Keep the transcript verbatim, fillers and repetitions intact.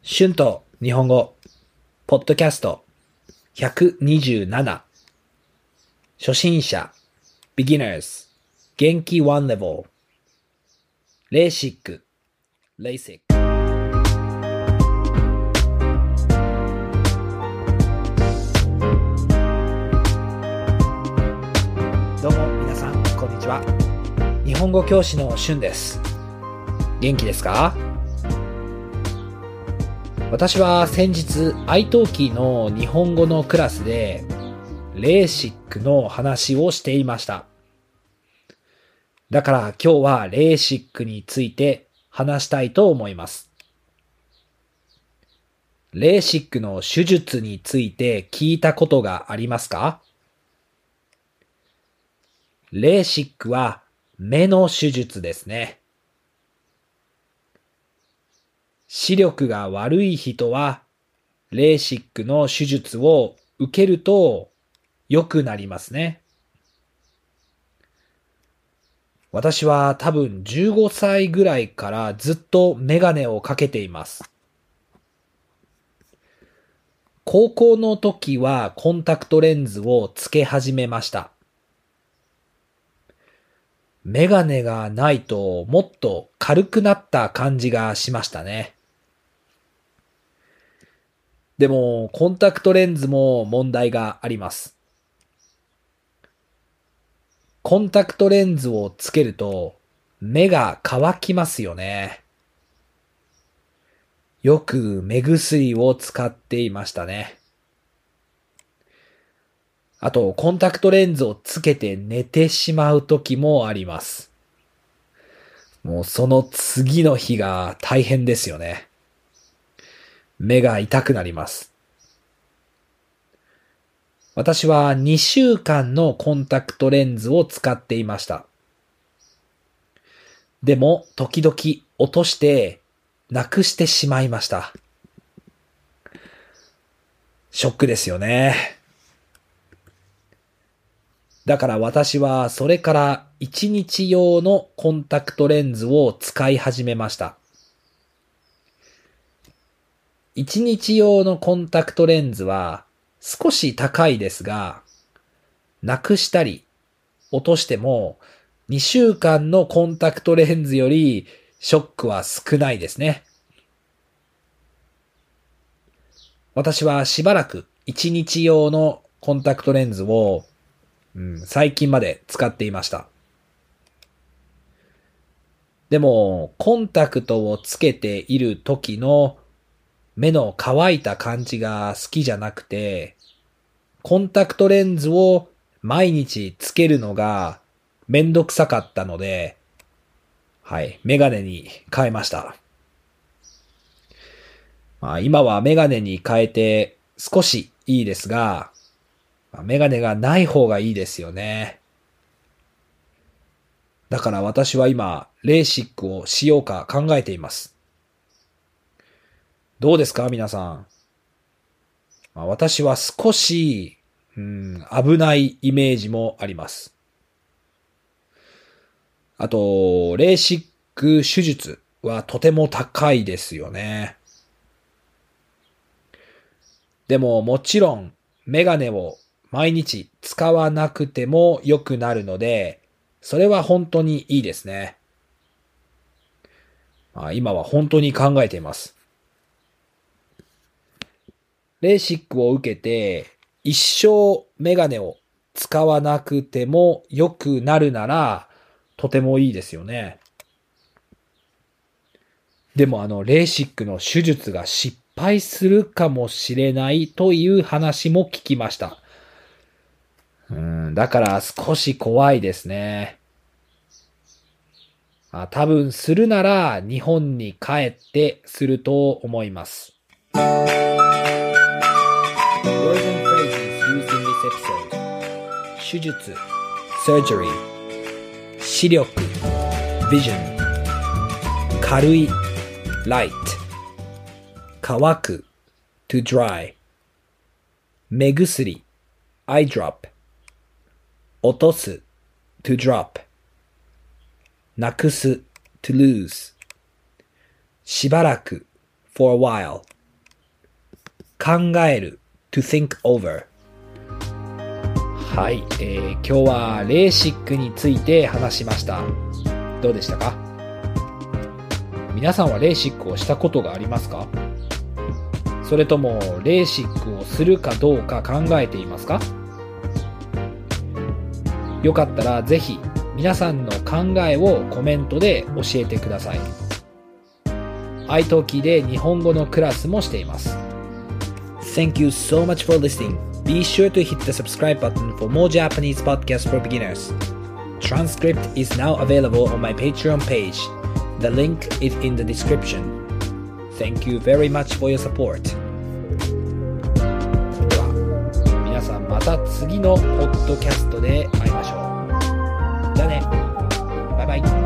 春と日本語、ポッドキャストひゃくにじゅうなな。初心者、beginners、元気ワンレベル、レーシック、レーシック。どうも皆さん、こんにちは。日本語教師の春です。元気ですか？私は先日、アイトーキーの日本語のクラスで、レーシックの話をしていました。だから今日はレーシックについて話したいと思います。レーシックの手術について聞いたことがありますか？レーシックは目の手術ですね。視力が悪い人は、レーシックの手術を受けると良くなりますね。私は多分じゅうごさいぐらいからずっとメガネをかけています。高校の時はコンタクトレンズをつけ始めました。メガネがないともっと軽くなった感じがしましたね。でも、コンタクトレンズも問題があります。コンタクトレンズをつけると、目が乾きますよね。よく目薬を使っていましたね。あと、コンタクトレンズをつけて寝てしまう時もあります。もうその次の日が大変ですよね。目が痛くなります。私はにしゅうかんのコンタクトレンズを使っていました。でも、時々落としてなくしてしまいました。ショックですよね。だから私はそれからいちにち用のコンタクトレンズを使い始めました。いちにち用のコンタクトレンズは少し高いですが、なくしたり落としてもにしゅうかんのコンタクトレンズよりショックは少ないですね。私はしばらくいちにち用のコンタクトレンズを、うん、最近まで使っていました。でも、コンタクトをつけている時の目の乾いた感じが好きじゃなくて、コンタクトレンズを毎日つけるのがめんどくさかったので、はい、メガネに変えました。まあ、今はメガネに変えて少しいいですが、メガネがない方がいいですよね。だから私は今、レーシックをしようか考えています。どうですか皆さん。まあ、私は少し、うん、危ないイメージもあります。あと、レーシック手術はとても高いですよね。でももちろんメガネを毎日使わなくても良くなるので、それは本当にいいですね。まあ、今は本当に考えています。レーシックを受けて一生メガネを使わなくても良くなるならとてもいいですよね。でもあのレーシックの手術が失敗するかもしれないという話も聞きました。うん、だから少し怖いですね。あ、多分するなら日本に帰ってすると思います。Words and phrases used in this episode. 手術 surgery 視力 vision 軽い light 乾く to dry 目薬 eye drop 落とす to drop なくす to lose しばらく for a while 考える to think over。はい、えー、今日はレーシックについて話しました。どうでしたか？皆さんはレーシックをしたことがありますか？それともレーシックをするかどうか考えていますか？よかったらぜひ皆さんの考えをコメントで教えてください。iTalki で日本語のクラスもしています。Thank you so much for listening. Be sure to hit the subscribe button for more Japanese podcasts for beginners. Transcript is now available on my Patreon page. The link is in the description. Thank you very much for your support. では、皆さんまた次のポッドキャストで会いましょう。じゃあね。バイバイ。